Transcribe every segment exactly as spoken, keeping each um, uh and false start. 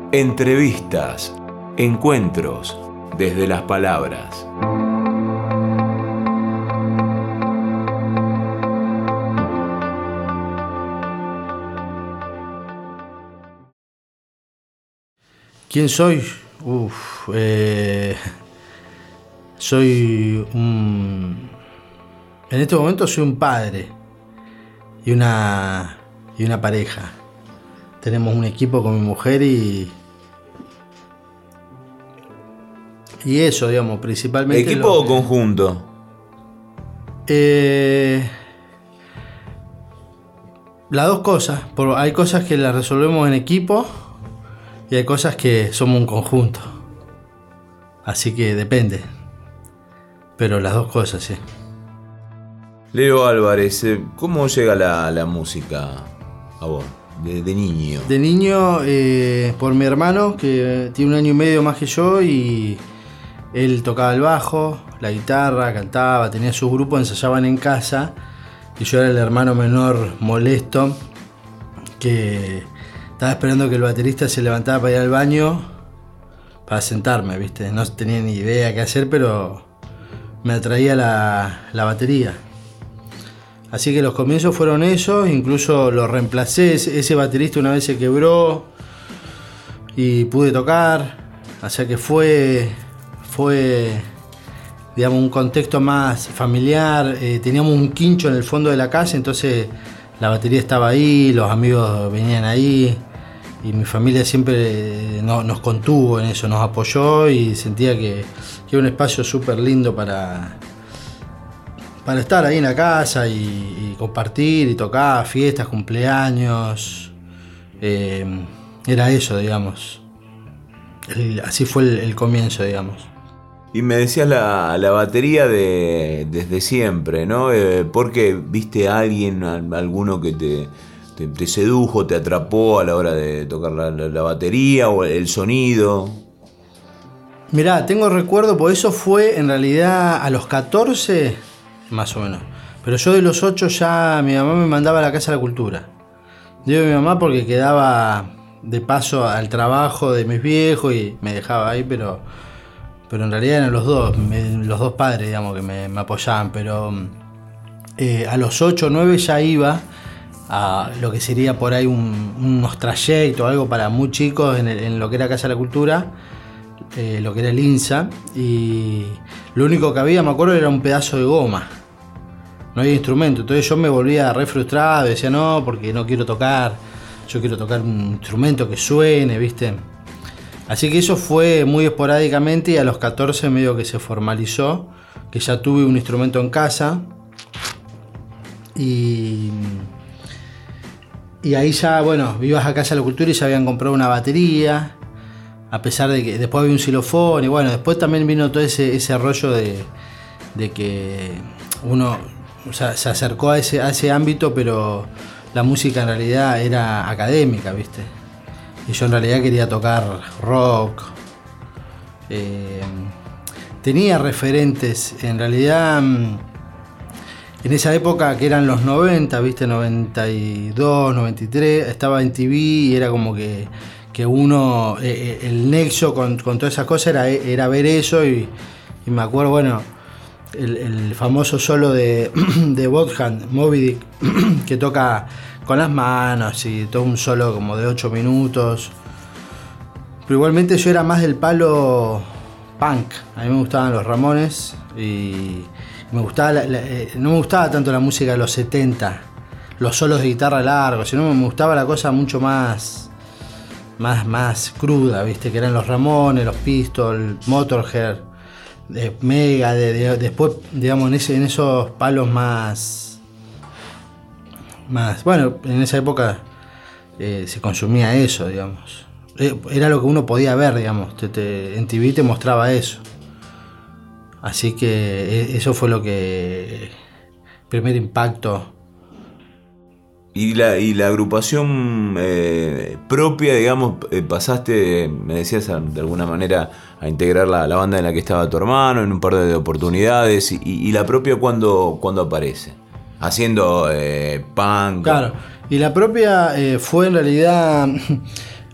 Entrevistas, encuentros desde las palabras. ¿Quién soy? Uf, eh, soy un... En este momento soy un padre y una, y una pareja. Tenemos un equipo con mi mujer y... Y eso, digamos, principalmente... ¿Equipo o conjunto? Eh, las dos cosas. Por, hay cosas que las resolvemos en equipo y hay cosas que somos un conjunto. Así que depende. Pero las dos cosas, sí. Leo Álvarez, ¿cómo llega la, la música a vos? De, de niño. De niño, eh, por mi hermano, que tiene un año y medio más que yo, y él tocaba el bajo, la guitarra, cantaba, tenía su grupo, ensayaban en casa, y yo era el hermano menor molesto, que estaba esperando que el baterista se levantara para ir al baño, para sentarme, ¿viste? No tenía ni idea qué hacer, pero me atraía la, la batería. Así que los comienzos fueron esos, incluso lo reemplacé, ese baterista una vez se quebró y pude tocar, o sea que fue, fue digamos, un contexto más familiar, eh, teníamos un quincho en el fondo de la casa, entonces la batería estaba ahí, los amigos venían ahí y mi familia siempre no, nos contuvo en eso, nos apoyó y sentía que, que era un espacio súper lindo para... para estar ahí en la casa y, y compartir y tocar, fiestas, cumpleaños, eh, era eso, digamos. El, así fue el, el comienzo, digamos. Y me decías la, la batería de desde siempre, ¿no? Eh, ¿Porque viste a alguien, a, alguno que te, te, te sedujo, te atrapó a la hora de tocar la, la, la batería o el sonido? Mirá, tengo recuerdo, porque eso fue en realidad a los catorce... más o menos. Pero yo de los ocho ya mi mamá me mandaba a la Casa de la Cultura. Digo mi mamá porque quedaba de paso al trabajo de mis viejos y me dejaba ahí, pero, pero en realidad eran los dos, me, los dos padres, digamos, que me, me apoyaban. Pero eh, a los ocho o nueve ya iba a lo que sería por ahí un, unos trayectos, algo para muy chicos en, el, en lo que era Casa de la Cultura. Eh, lo que era el INSA, y lo único que había, me acuerdo, era un pedazo de goma, no había instrumento, entonces yo me volvía re frustrado, decía no, porque no quiero tocar, yo quiero tocar un instrumento que suene, ¿viste? Así que eso fue muy esporádicamente y a los catorce medio que se formalizó, que ya tuve un instrumento en casa y, y ahí ya, bueno, ibas a Casa de la Cultura y ya habían comprado una batería. A pesar de que después había un xilofón y bueno, después también vino todo ese, ese rollo de, de que uno, o sea, se acercó a ese, a ese ámbito, pero la música en realidad era académica, ¿viste? Y yo en realidad quería tocar rock. Eh, tenía referentes, en realidad, en esa época que eran los noventa, ¿viste? noventa y dos, noventa y tres, estaba en T V y era como que... que uno, eh, el nexo con, con todas esas cosas era, era ver eso y, y me acuerdo, bueno, el, el famoso solo de, de Wolfgang Moby Dick, que toca con las manos y todo un solo como de ocho minutos, pero igualmente yo era más del palo punk, a mí me gustaban los Ramones y me gustaba la, la, eh, no me gustaba tanto la música de los setenta, los solos de guitarra largos, sino me gustaba la cosa mucho más... Más, más cruda, ¿viste? Que eran los Ramones, los Pistols, Motorhead, de Mega, de, de, después, digamos, en, ese, en esos palos más... más bueno, en esa época eh, se consumía eso, digamos. Era lo que uno podía ver, digamos. Te, te, en T V te mostraba eso. Así que eso fue lo que... primer impacto. Y la, y la agrupación eh, propia, digamos, eh, pasaste, me decías, a, de alguna manera, a integrar la, la banda en la que estaba tu hermano en un par de oportunidades. Y, y la propia, ¿cuándo, cuándo aparece? Haciendo eh, punk. Claro, y la propia eh, fue en realidad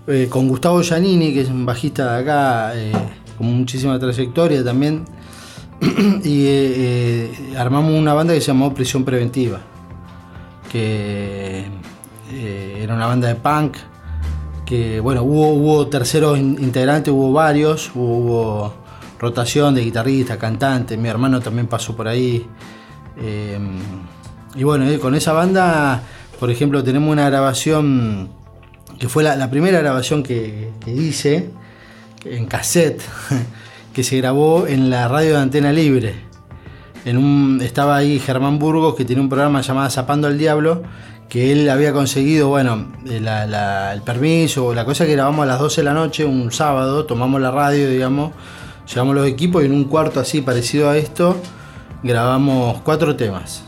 eh, con Gustavo Giannini, que es un bajista de acá, eh, con muchísima trayectoria también, y eh, eh, armamos una banda que se llamó Prisión Preventiva, que eh, era una banda de punk, que bueno, hubo, hubo terceros integrantes, hubo varios, hubo, hubo rotación de guitarristas, cantantes, mi hermano también pasó por ahí. Eh, y bueno, eh, con esa banda, por ejemplo, tenemos una grabación que fue la, la primera grabación que, que hice en cassette, que se grabó en la radio de Antena Libre. En un, estaba ahí Germán Burgos, que tiene un programa llamado Zapando al Diablo, que él había conseguido, bueno, la, la, el permiso, la cosa que grabamos a las doce de la noche, un sábado, tomamos la radio, digamos, llevamos los equipos y en un cuarto así parecido a esto, grabamos cuatro temas.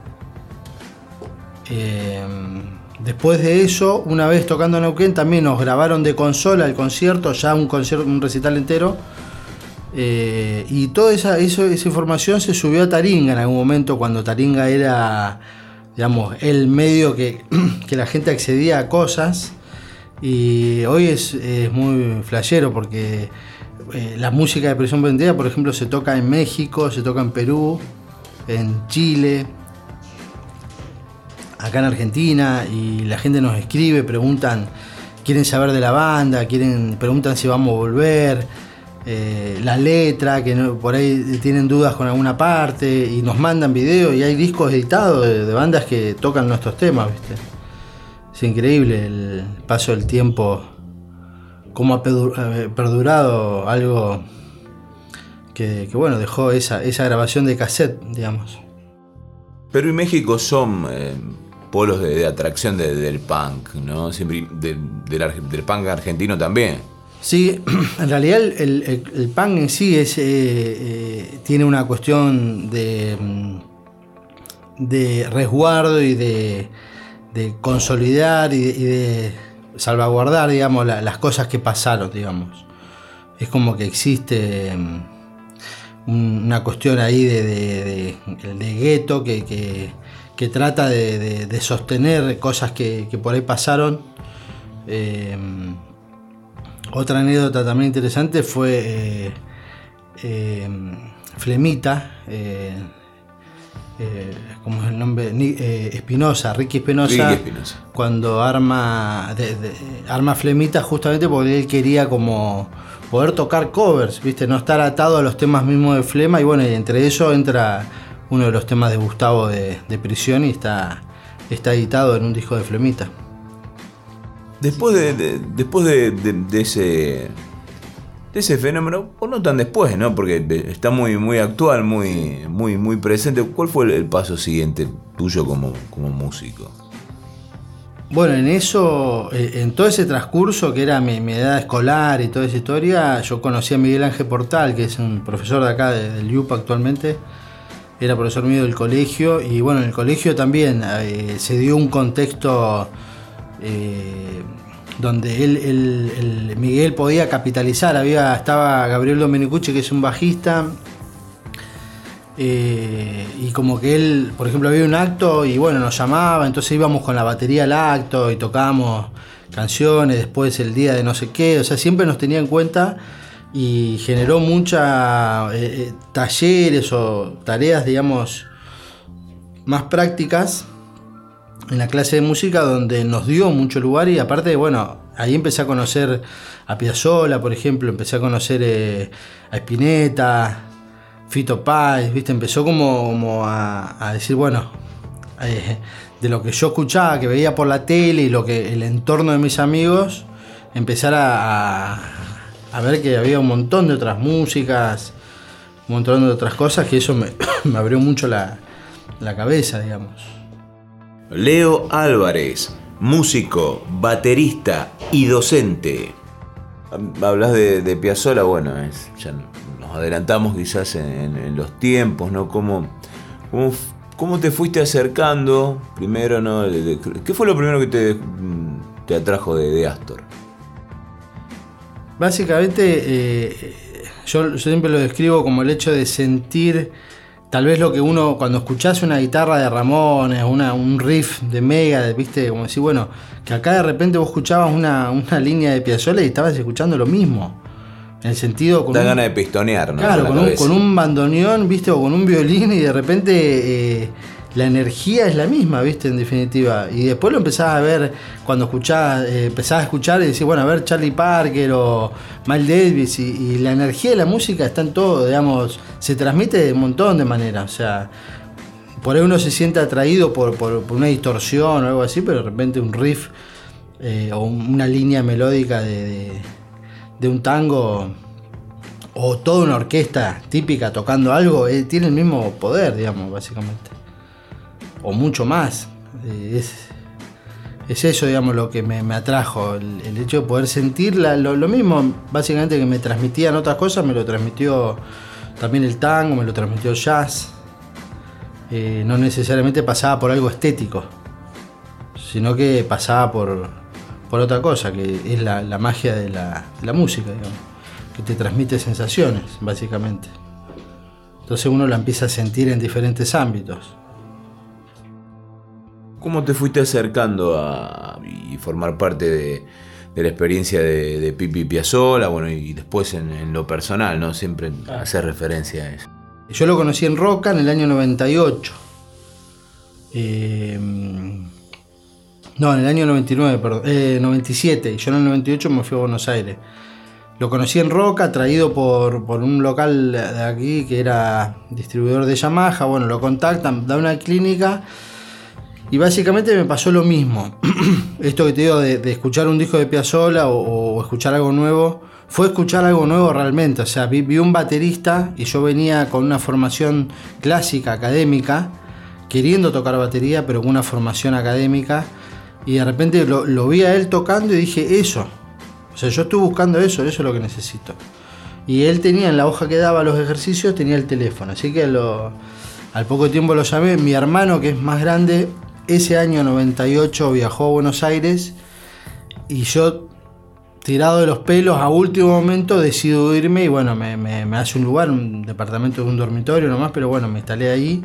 Eh, después de eso, una vez tocando en Neuquén, también nos grabaron de consola el concierto, ya un concierto, un recital entero. Eh, y toda esa, eso, esa información se subió a Taringa en algún momento, cuando Taringa era, digamos, el medio que, que la gente accedía a cosas. Y hoy es, es muy flashero porque eh, la música de Prisión Preventiva, por ejemplo, se toca en México, se toca en Perú, en Chile, acá en Argentina, y la gente nos escribe, preguntan, quieren saber de la banda, quieren, preguntan si vamos a volver, eh, la letra, que no, por ahí tienen dudas con alguna parte, y nos mandan videos, y hay discos editados de, de bandas que tocan nuestros temas, ¿viste? Es increíble el paso del tiempo, cómo ha perdurado algo que, que bueno, dejó esa, esa grabación de cassette, digamos. Perú y México son eh, polos de, de atracción de, del punk, ¿no? Siempre, de, de la, del punk argentino también. Sí, en realidad el, el, el punk en sí es, eh, eh, tiene una cuestión de, de resguardo y de, de consolidar y de, y de salvaguardar, digamos, la, las cosas que pasaron, digamos. Es como que existe una cuestión ahí de, de, de, de gueto que, que, que trata de, de, de sostener cosas que, que por ahí pasaron. Eh, otra anécdota también interesante fue eh, eh, Flemita, eh, eh, ¿cómo es el nombre? Eh, Espinosa, Ricky Espinosa, cuando arma, de, de, arma Flemita justamente porque él quería como poder tocar covers, ¿viste? No estar atado a los temas mismos de Flema, y bueno, y entre eso entra uno de los temas de Gustavo de, de Prisión, y está, está editado en un disco de Flemita. Después de, de, después de, de, de ese de ese fenómeno, o no tan después, ¿no? Porque está muy, muy actual, muy, muy, muy presente. ¿Cuál fue el, el paso siguiente tuyo como, como músico? Bueno, en eso, en todo ese transcurso que era mi, mi edad escolar y toda esa historia, yo conocí a Miguel Ángel Portal, que es un profesor de acá, de, del I U P A actualmente. Era profesor mío del colegio, y bueno, en el colegio también eh, se dio un contexto eh, donde él, él, él, Miguel podía capitalizar. Había, estaba Gabriel Domenicucci, que es un bajista, Eh, y como que él, por ejemplo, había un acto y bueno, nos llamaba, entonces íbamos con la batería al acto y tocábamos canciones, después el día de no sé qué, o sea, siempre nos tenía en cuenta, y generó muchas eh, talleres o tareas, digamos, más prácticas en la clase de música, donde nos dio mucho lugar. Y aparte, bueno, ahí empecé a conocer a Piazzolla, por ejemplo, empecé a conocer eh, a Spinetta, Fito Páez, ¿viste? Empezó como, como a, a decir, bueno, eh, de lo que yo escuchaba, que veía por la tele y lo que el entorno de mis amigos, empezar a, a, a ver que había un montón de otras músicas, un montón de otras cosas, que eso me, me abrió mucho la, la cabeza, digamos. Leo Álvarez, músico, baterista y docente. Hablas de, de Piazzolla, bueno, es, ya nos adelantamos quizás en, en los tiempos, ¿no? ¿Cómo, cómo, cómo te fuiste acercando primero, ¿no? De, de, ¿Qué fue lo primero que te, te atrajo de, de Astor? Básicamente, eh, yo, yo siempre lo describo como el hecho de sentir tal vez lo que uno, cuando escuchás una guitarra de Ramones, una, un riff de Mega, viste, como decir, bueno, que acá de repente vos escuchabas una, una línea de Piazzolla y estabas escuchando lo mismo. En el sentido... Con da un, ganas de pistonear, ¿no? Claro, con un, con un bandoneón, viste, o con un violín y de repente eh, la energía es la misma, viste, en definitiva. Y después lo empezás a ver, cuando escuchás, eh, empezás a escuchar y decís, bueno, a ver Charlie Parker o Miles Davis, y, y la energía de la música está en todo, digamos, se transmite de un montón de maneras, o sea, por ahí uno se siente atraído por, por, por una distorsión o algo así, pero de repente un riff eh, o una línea melódica de, de, de un tango o toda una orquesta típica tocando algo, eh, tiene el mismo poder, digamos, básicamente. O mucho más. Eh, es, es eso, digamos, lo que me, me atrajo. El, el hecho de poder sentir la, lo, lo mismo, básicamente, que me transmitían otras cosas, me lo transmitió también el tango, me lo transmitió el jazz. Eh, no necesariamente pasaba por algo estético, sino que pasaba por, por otra cosa, que es la, la magia de la, de la música, digamos, que te transmite sensaciones, básicamente. Entonces uno la empieza a sentir en diferentes ámbitos. ¿Cómo te fuiste acercando a y formar parte de, de la experiencia de, de Pipi Piazzolla? Bueno, y después en, en lo personal, ¿no? Siempre Ah. hacer referencia a eso. Yo lo conocí en Roca en el año noventa y ocho. Eh, no, en el año noventa y nueve, perdón. Eh, noventa y siete. Y yo en el noventa y ocho me fui a Buenos Aires. Lo conocí en Roca, traído por, por un local de aquí que era distribuidor de Yamaha. Bueno, lo contactan, da una clínica. Y básicamente me pasó lo mismo. Esto que te digo de, de escuchar un disco de Piazzolla o, o escuchar algo nuevo, fue escuchar algo nuevo realmente. O sea, vi, vi un baterista y yo venía con una formación clásica, académica, queriendo tocar batería, pero con una formación académica. Y de repente lo, lo vi a él tocando y dije, eso. O sea, yo estoy buscando eso, eso es lo que necesito. Y él tenía en la hoja que daba los ejercicios, tenía el teléfono. Así que lo, al poco tiempo lo llamé. Mi hermano, que es más grande, ese año noventa y ocho viajó a Buenos Aires y yo, tirado de los pelos, a último momento decido irme y bueno, me, me, me hace un lugar, un departamento de un dormitorio nomás, pero bueno, me instalé ahí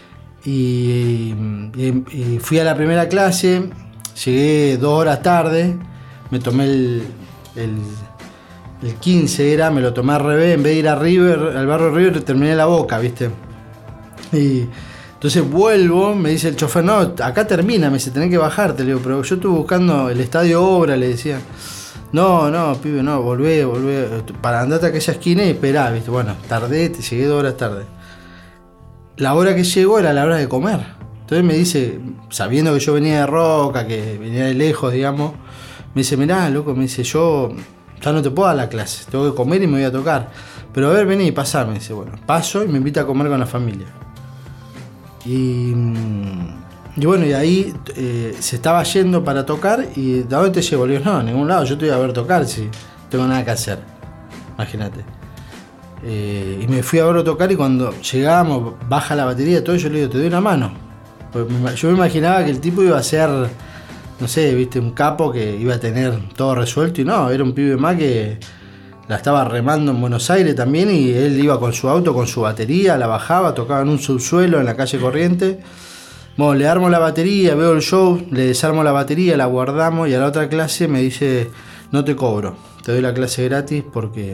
y, y, y fui a la primera clase, llegué dos horas tarde, me tomé el, el, el quince era, me lo tomé al revés, en vez de ir a River, al barrio River, terminé en La Boca, ¿viste? Y entonces vuelvo, me dice el chofer, no, acá termina, me dice, tenés que bajarte, le digo, pero yo estuve buscando el estadio Obra, le decía. No, no, pibe, no, volvé, volvé, para andarte a aquella esquina y esperá, ¿viste? Bueno, tardé, te llegué dos horas tarde. La hora que llegó era la hora de comer. Entonces me dice, sabiendo que yo venía de Roca, que venía de lejos, digamos, me dice, mirá, loco, me dice, yo ya no te puedo dar la clase, tengo que comer y me voy a tocar. Pero a ver, vení y pasá, me dice, bueno, paso y me invita a comer con la familia. Y, y bueno, y ahí eh, se estaba yendo para tocar y ¿de dónde te llevo? Le digo, no, a ningún lado, yo te voy a ver tocar si no tengo nada que hacer. Imagínate. Eh, y me fui a verlo tocar y cuando llegamos, baja la batería, todo, yo le digo, te doy una mano. Pues me, yo me imaginaba que el tipo iba a ser, no sé, viste, un capo que iba a tener todo resuelto y no, era un pibe más que la estaba remando en Buenos Aires también y él iba con su auto, con su batería, la bajaba, tocaba en un subsuelo en la calle Corriente. Bueno, le armo la batería, veo el show, le desarmo la batería, la guardamos y a la otra clase me dice, no te cobro, te doy la clase gratis porque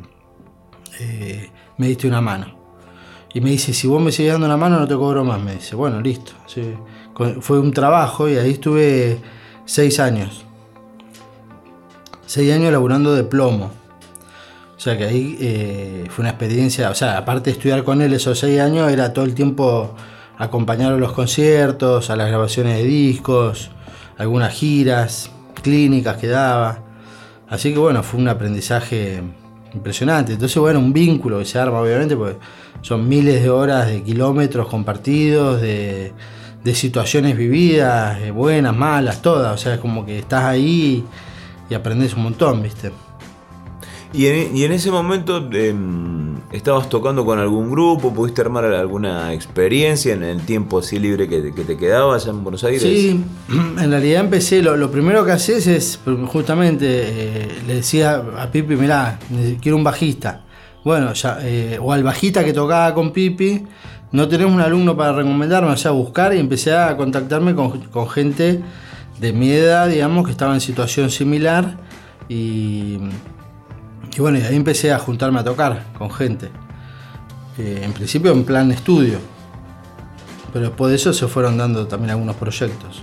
eh, me diste una mano. Y me dice, si vos me sigues dando una mano no te cobro más, me dice. Bueno, listo. Sí. Fue un trabajo y ahí estuve seis años. Seis años laburando de plomo. O sea que ahí eh, fue una experiencia, o sea, aparte de estudiar con él esos seis años, era todo el tiempo acompañarlo a los conciertos, a las grabaciones de discos, algunas giras, clínicas que daba. Así que bueno, fue un aprendizaje impresionante. Entonces bueno, un vínculo que se arma obviamente, porque son miles de horas de kilómetros compartidos, de, de situaciones vividas, buenas, malas, todas. O sea, es como que estás ahí y aprendes un montón, ¿viste? Y en, y en ese momento eh, ¿estabas tocando con algún grupo? ¿Pudiste armar alguna experiencia en el tiempo así libre que, que te quedaba allá en Buenos Aires? Sí, en realidad empecé, lo, lo primero que haces es, justamente, eh, le decía a Pipi, mirá, quiero un bajista. Bueno, ya, eh, o al bajista que tocaba con Pipi, no tenés un alumno para recomendarme, o sea, buscar, y empecé a contactarme con, con gente de mi edad, digamos, que estaba en situación similar, y, y bueno, y ahí empecé a juntarme a tocar con gente. Eh, en principio en plan estudio, pero después de eso se fueron dando también algunos proyectos.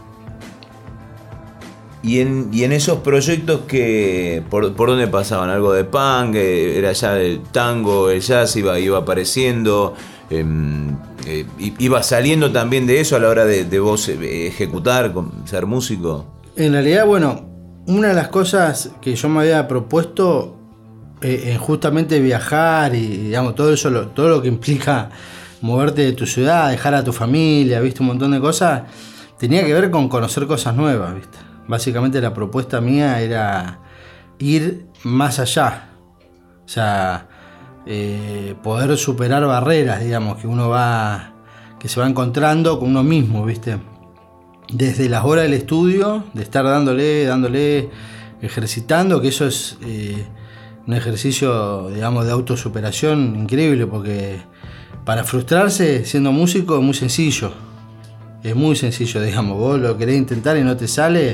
Y en, y en esos proyectos, que por, ¿por dónde pasaban? ¿Algo de punk? ¿Era ya el tango, el jazz iba, iba apareciendo? Eh, eh, ¿Iba saliendo también de eso a la hora de, de vos ejecutar, ser músico? En realidad, bueno, una de las cosas que yo me había propuesto eh, en justamente viajar y, digamos, todo eso, lo, todo lo que implica moverte de tu ciudad, dejar a tu familia, viste, un montón de cosas, tenía que ver con conocer cosas nuevas, viste. Básicamente la propuesta mía era ir más allá, o sea, eh, poder superar barreras, digamos, que uno va, que se va encontrando con uno mismo, ¿viste? Desde las horas del estudio, de estar dándole, dándole, ejercitando, que eso es eh, un ejercicio, digamos, de autosuperación increíble, porque para frustrarse siendo músico es muy sencillo. Es muy sencillo, digamos, vos lo querés intentar y no te sale,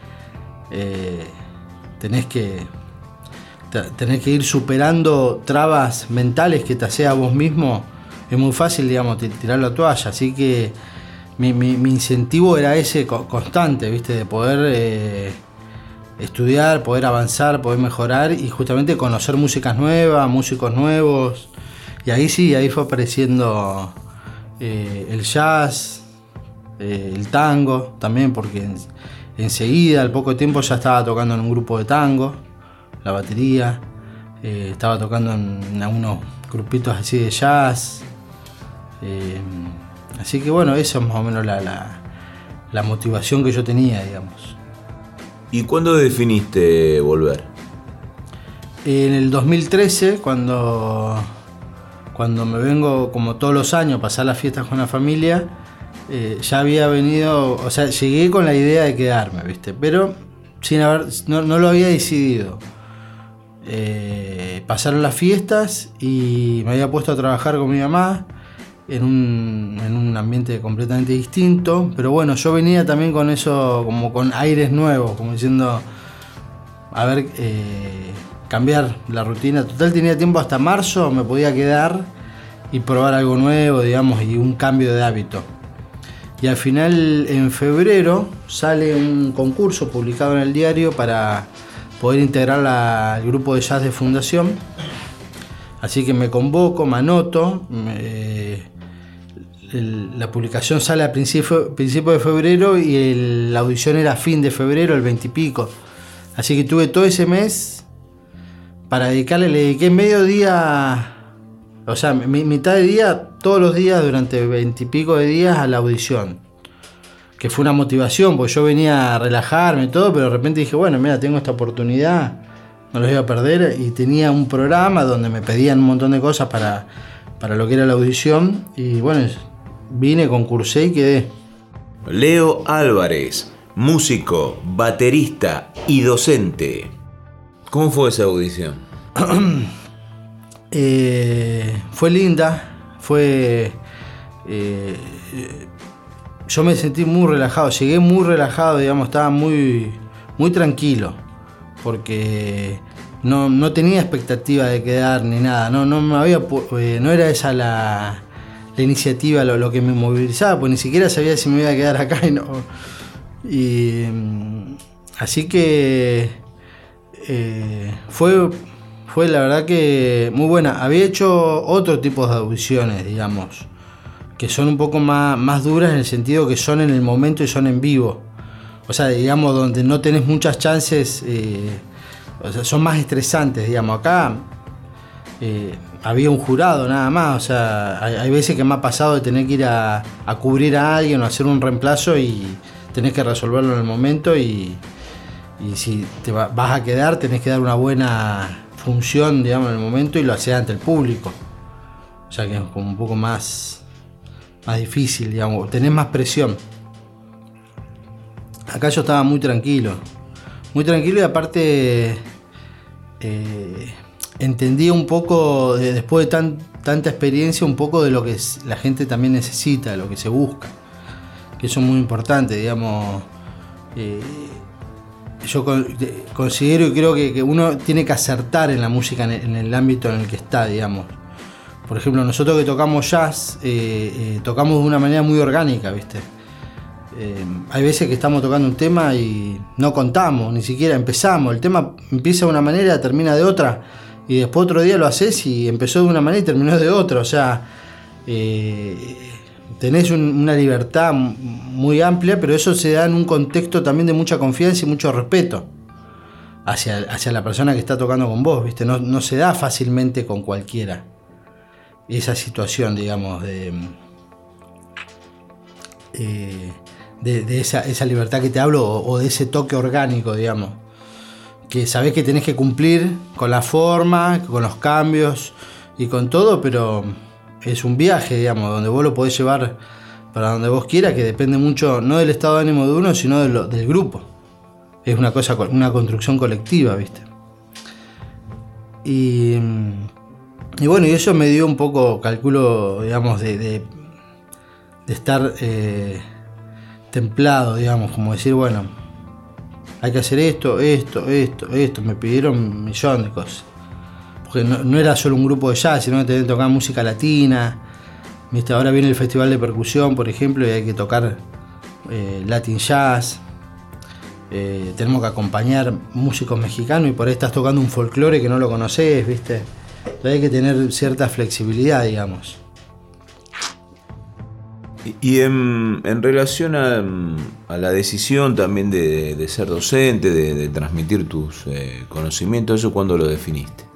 eh, tenés que tenés que ir superando trabas mentales que te hacía vos mismo. Es muy fácil, digamos, tirar la toalla, así que mi, mi, mi incentivo era ese constante, ¿viste? De poder eh, estudiar, poder avanzar, poder mejorar y justamente conocer músicas nuevas, músicos nuevos, y ahí sí, ahí fue apareciendo eh, el jazz, Eh, el tango también, porque en, enseguida, al poco tiempo, ya estaba tocando en un grupo de tango, la batería, eh, estaba tocando en, en algunos grupitos así de jazz, eh, así que bueno, eso es más o menos la, la, la motivación que yo tenía, digamos. ¿Y cuándo definiste volver? En el dos mil trece, cuando, cuando me vengo como todos los años a pasar las fiestas con la familia, Eh, ya había venido, o sea, llegué con la idea de quedarme, ¿viste? Pero sin haber, no, no lo había decidido. Eh, pasaron las fiestas y me había puesto a trabajar con mi mamá en un, en un ambiente completamente distinto, pero bueno, yo venía también con eso, como con aires nuevos, como diciendo, a ver, eh, cambiar la rutina. Total, tenía tiempo hasta marzo, me podía quedar y probar algo nuevo, digamos, y un cambio de hábito. Y al final, en febrero, sale un concurso publicado en el diario para poder integrar la, el grupo de jazz de Fundación. Así que me convoco, me anoto. Me, el, la publicación sale a principio, principio de febrero y el, la audición era a fin de febrero, el veinte y pico. Así que tuve todo ese mes para dedicarle, le dediqué medio día... O sea, mi, mitad de día, todos los días, durante veintipico de días a la audición. Que fue una motivación, porque yo venía a relajarme y todo, pero de repente dije, bueno, mira, tengo esta oportunidad, no los voy a perder. Y tenía un programa donde me pedían un montón de cosas para, para lo que era la audición. Y bueno, vine, concursé y quedé. Leo Álvarez, músico, baterista y docente. ¿Cómo fue esa audición? Eh, fue linda, fue eh, yo me sentí muy relajado, llegué muy relajado, digamos, estaba muy, muy tranquilo, porque no, no tenía expectativa de quedar ni nada, no, no me había, eh, no era esa la, la iniciativa, lo, lo que me movilizaba, pues ni siquiera sabía si me iba a quedar acá y no. Y así que eh, fue Fue la verdad que muy buena. Había hecho otro tipo de audiciones, digamos, que son un poco más, más duras en el sentido que son en el momento y son en vivo. O sea, digamos, donde no tenés muchas chances, eh, o sea, son más estresantes, digamos. Acá eh, había un jurado nada más, o sea, hay, hay veces que me ha pasado de tener que ir a, a cubrir a alguien o hacer un reemplazo y tenés que resolverlo en el momento y, y si te va, vas a quedar, tenés que dar una buena función, digamos, en el momento y lo haces ante el público. O sea que es como un poco más, más difícil, digamos, tenés más presión. Acá yo estaba muy tranquilo, muy tranquilo y aparte eh, entendía un poco, de, después de tan, tanta experiencia, un poco de lo que la gente también necesita, de lo que se busca. Que eso es muy importante, digamos. Eh, yo con, de, considero y creo que, que uno tiene que acertar en la música en el, en el ámbito en el que está, digamos. Por ejemplo, nosotros que tocamos jazz, eh, eh, tocamos de una manera muy orgánica, ¿viste? Eh, hay veces que estamos tocando un tema y no contamos, ni siquiera empezamos. El tema empieza de una manera, termina de otra, y después otro día lo haces y empezó de una manera y terminó de otra. O sea, eh, tenés un, una libertad muy amplia, pero eso se da en un contexto también de mucha confianza y mucho respeto hacia, hacia la persona que está tocando con vos, ¿viste? No, no se da fácilmente con cualquiera esa situación, digamos, de, eh, de, de esa, esa libertad que te hablo, o, o de ese toque orgánico, digamos, que sabés que tenés que cumplir con la forma, con los cambios y con todo, pero es un viaje, digamos, donde vos lo podés llevar para donde vos quieras, que depende mucho no del estado de ánimo de uno, sino de lo, del grupo. Es una cosa, una construcción colectiva, ¿viste? Y Y bueno, y eso me dio un poco, calculo, digamos, de, de, de estar eh, templado, digamos, como decir, bueno, hay que hacer esto, esto, esto, esto. Me pidieron un millón de cosas. Porque no, no era solo un grupo de jazz, sino que tenía que tocar música latina. ¿Viste? Ahora viene el Festival de Percusión, por ejemplo, y hay que tocar eh, Latin Jazz. Eh, tenemos que acompañar músicos mexicanos y por ahí estás tocando un folclore que no lo conocés, ¿viste? Hay que tener cierta flexibilidad, digamos. Y en, en relación a, a la decisión también de, de ser docente, de, de transmitir tus eh, conocimientos, ¿eso cuándo lo definiste?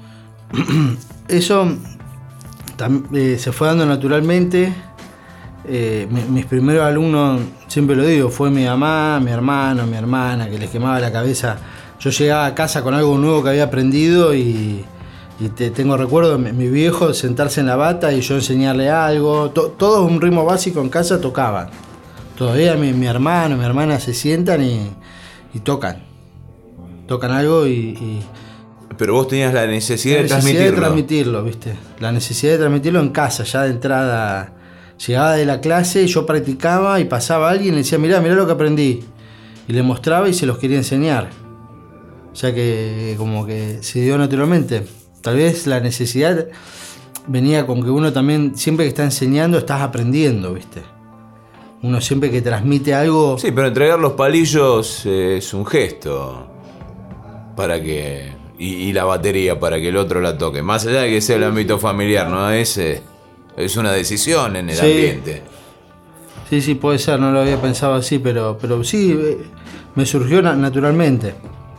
Eso tam, eh, se fue dando naturalmente. Eh, mi, mis primeros alumnos, siempre lo digo, fue mi mamá, mi hermano, mi hermana, que les quemaba la cabeza. Yo llegaba a casa con algo nuevo que había aprendido y... Y te, tengo recuerdo de mi viejo sentarse en la bata y yo enseñarle algo. To, todo un ritmo básico en casa tocaban. Todavía mi, mi hermano, mi hermana se sientan y, y tocan. Tocan algo y, y... Pero vos tenías la necesidad, la necesidad de transmitirlo. de transmitirlo, ¿viste? La necesidad de transmitirlo en casa, ya de entrada. Llegaba de la clase, yo practicaba y pasaba alguien y le decía, mirá, mirá lo que aprendí. Y le mostraba y se los quería enseñar. O sea que como que se dio naturalmente. Tal vez la necesidad venía con que uno también, siempre que está enseñando, estás aprendiendo, ¿viste? Uno siempre que transmite algo... Sí, pero entregar los palillos es un gesto para que... Y, y la batería para que el otro la toque. Más allá de que sea el ámbito familiar, ¿no? Es, es una decisión en el sí. ambiente. Sí, sí, puede ser, no lo había pensado así, pero, pero sí, me surgió naturalmente.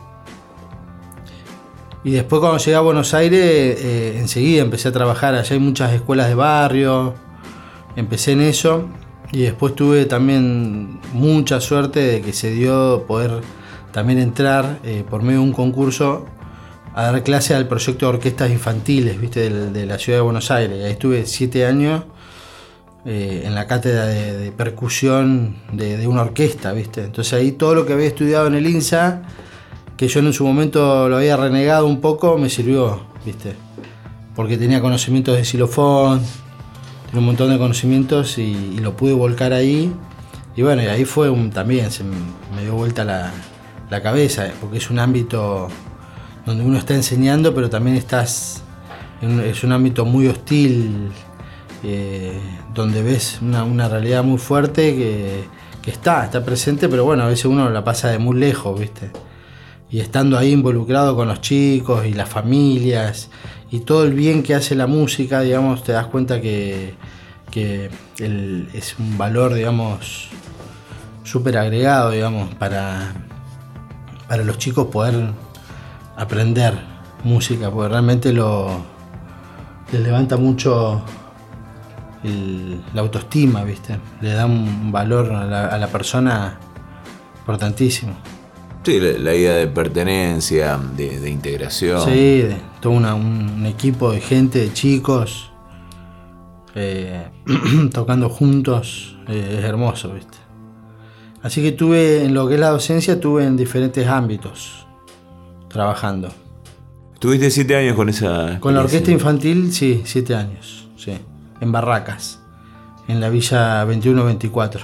Y después cuando llegué a Buenos Aires, eh, enseguida empecé a trabajar. Allá hay muchas escuelas de barrio, empecé en eso. Y después tuve también mucha suerte de que se dio poder también entrar eh, por medio de un concurso a dar clase al proyecto de orquestas infantiles, ¿viste? De, de la ciudad de Buenos Aires. Ahí estuve siete años eh, en la cátedra de, de percusión de, de una orquesta, ¿viste? Entonces ahí todo lo que había estudiado en el INSA, que yo en su momento lo había renegado un poco, me sirvió, ¿viste? Porque tenía conocimientos de xilofón, tenía un montón de conocimientos y, y lo pude volcar ahí. Y bueno, y ahí fue un, también, se me dio vuelta la, la cabeza, porque es un ámbito donde uno está enseñando, pero también estás, en, es un ámbito muy hostil, eh, donde ves una, una realidad muy fuerte que, que está, está presente, pero bueno, a veces uno la pasa de muy lejos, ¿viste? Y estando ahí involucrado con los chicos y las familias y todo el bien que hace la música, digamos, te das cuenta que, que el, es un valor, digamos, súper agregado, digamos, para, para los chicos poder aprender música, porque realmente lo, les levanta mucho el, la autoestima, ¿viste? Le da un valor a la, a la persona importantísimo. Sí, la, la idea de pertenencia, de, de integración. Sí, de todo una, un, un equipo de gente, de chicos, eh, tocando juntos, eh, es hermoso, ¿viste? Así que tuve, en lo que es la docencia, tuve en diferentes ámbitos trabajando. Tuviste siete años con esa... Con la orquesta infantil, sí, siete años, sí. En Barracas, en la Villa veintiuno veinticuatro.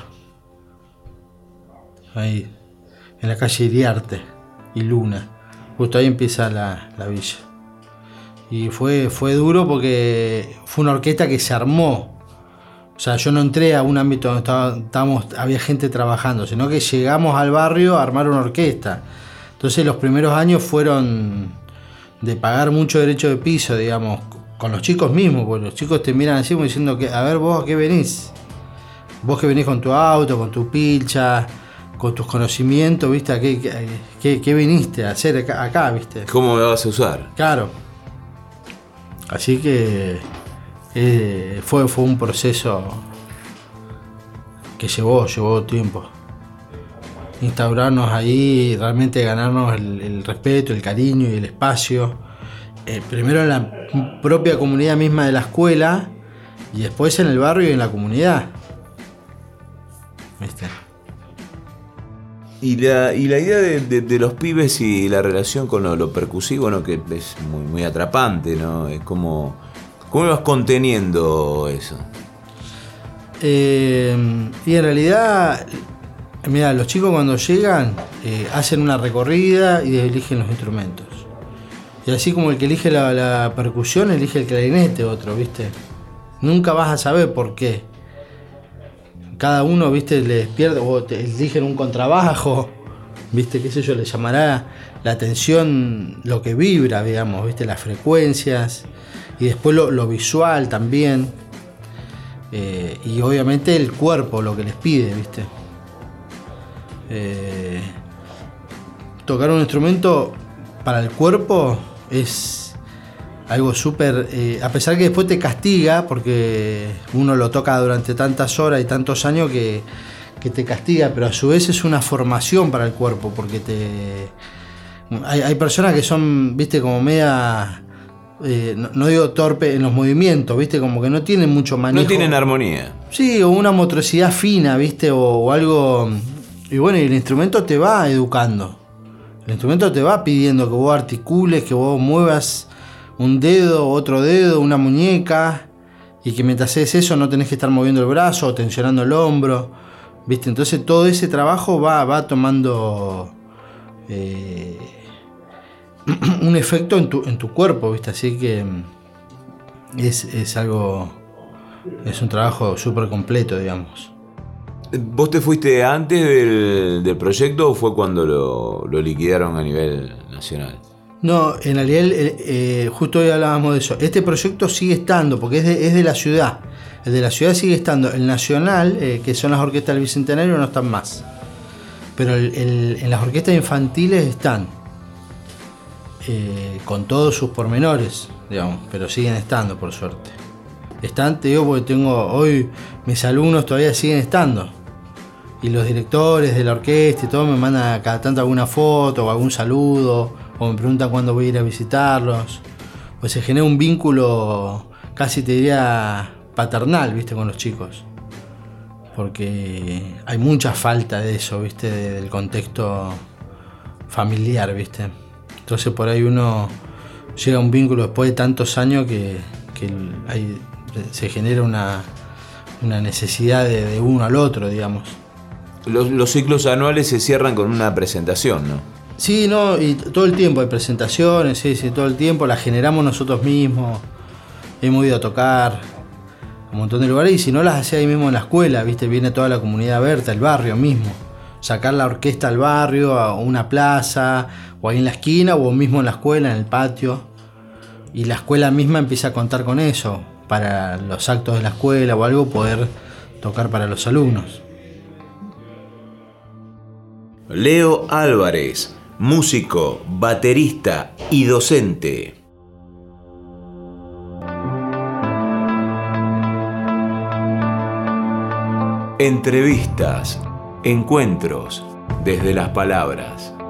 Ahí, en la calle Iriarte y Luna. Justo ahí empieza la, la villa. Y fue, fue duro porque fue una orquesta que se armó. O sea, yo no entré a un ámbito donde estaba, estábamos, había gente trabajando, sino que llegamos al barrio a armar una orquesta. Entonces los primeros años fueron de pagar mucho derecho de piso, digamos, con los chicos mismos, porque los chicos te miran así como diciendo que, a ver, vos a qué venís. Vos que venís con tu auto, con tu pilcha, con tus conocimientos, ¿viste? ¿A qué, qué, qué viniste a hacer acá, acá, viste? ¿Cómo me vas a usar? Claro. Así que eh, fue, fue un proceso que llevó, llevó tiempo. Instaurarnos ahí, realmente ganarnos el, el respeto, el cariño y el espacio. Eh, primero en la propia comunidad misma de la escuela y después en el barrio y en la comunidad. ¿Viste? Y la, y la idea de, de, de los pibes y la relación con lo, lo percusivo, ¿no? Que es muy, muy atrapante, ¿no? Es como... ¿Cómo vas conteniendo eso? Eh, y en realidad, mira, los chicos cuando llegan eh, hacen una recorrida y eligen los instrumentos. Y así como el que elige la, la percusión, elige el clarinete otro, ¿viste? Nunca vas a saber por qué. Cada uno, ¿viste? Les pierde, o te eligen un contrabajo, ¿viste? Qué sé yo, le llamará la atención lo que vibra, digamos, ¿viste? Las frecuencias y después lo, lo visual también. Eh, y obviamente el cuerpo, lo que les pide, ¿viste? Eh, tocar un instrumento para el cuerpo es algo súper... Eh, a pesar que después te castiga, porque uno lo toca durante tantas horas y tantos años que, que te castiga, pero a su vez es una formación para el cuerpo, porque te... Hay, hay personas que son, viste, como media... Eh, no, no digo torpe en los movimientos, viste, como que no tienen mucho manejo. No tienen armonía. Sí, o una motricidad fina, viste, o, o algo... Y bueno, y el instrumento te va educando. El instrumento te va pidiendo que vos articules, que vos muevas un dedo, otro dedo, una muñeca, y que mientras haces eso no tenés que estar moviendo el brazo o tensionando el hombro, ¿viste? Entonces todo ese trabajo va, va tomando eh, un efecto en tu, en tu cuerpo, ¿viste? Así que es, es algo, es un trabajo súper completo, digamos. ¿Vos te fuiste antes del, del proyecto o fue cuando lo, lo liquidaron a nivel nacional? No, en realidad eh, eh, justo hoy hablábamos de eso. Este proyecto sigue estando, porque es de, es de la ciudad. El de la ciudad sigue estando. El nacional, eh, que son las orquestas del Bicentenario, no están más. Pero el, el, en las orquestas infantiles están. Eh, con todos sus pormenores, digamos, pero siguen estando, por suerte. Están, te digo, porque tengo hoy mis alumnos todavía siguen estando. Y los directores de la orquesta y todo me mandan cada tanto alguna foto o algún saludo, o me preguntan cuándo voy a ir a visitarlos. Pues se genera un vínculo casi te diría paternal, ¿viste? Con los chicos. Porque hay mucha falta de eso, ¿viste? Del contexto familiar, ¿viste? Entonces por ahí uno llega a un vínculo después de tantos años que, que hay, se genera una, una necesidad de, de uno al otro, digamos. Los, los ciclos anuales se cierran con una presentación, ¿no? Sí, no, y todo el tiempo hay presentaciones, sí, sí, todo el tiempo las generamos nosotros mismos. Hemos ido a tocar un montón de lugares y si no las hacía ahí mismo en la escuela, ¿viste? Viene toda la comunidad abierta, el barrio mismo. Sacar la orquesta al barrio, a una plaza, o ahí en la esquina, o mismo en la escuela, en el patio. Y la escuela misma empieza a contar con eso, para los actos de la escuela o algo, poder tocar para los alumnos. Leo Álvarez, músico, baterista y docente. Entrevistas, encuentros desde las palabras.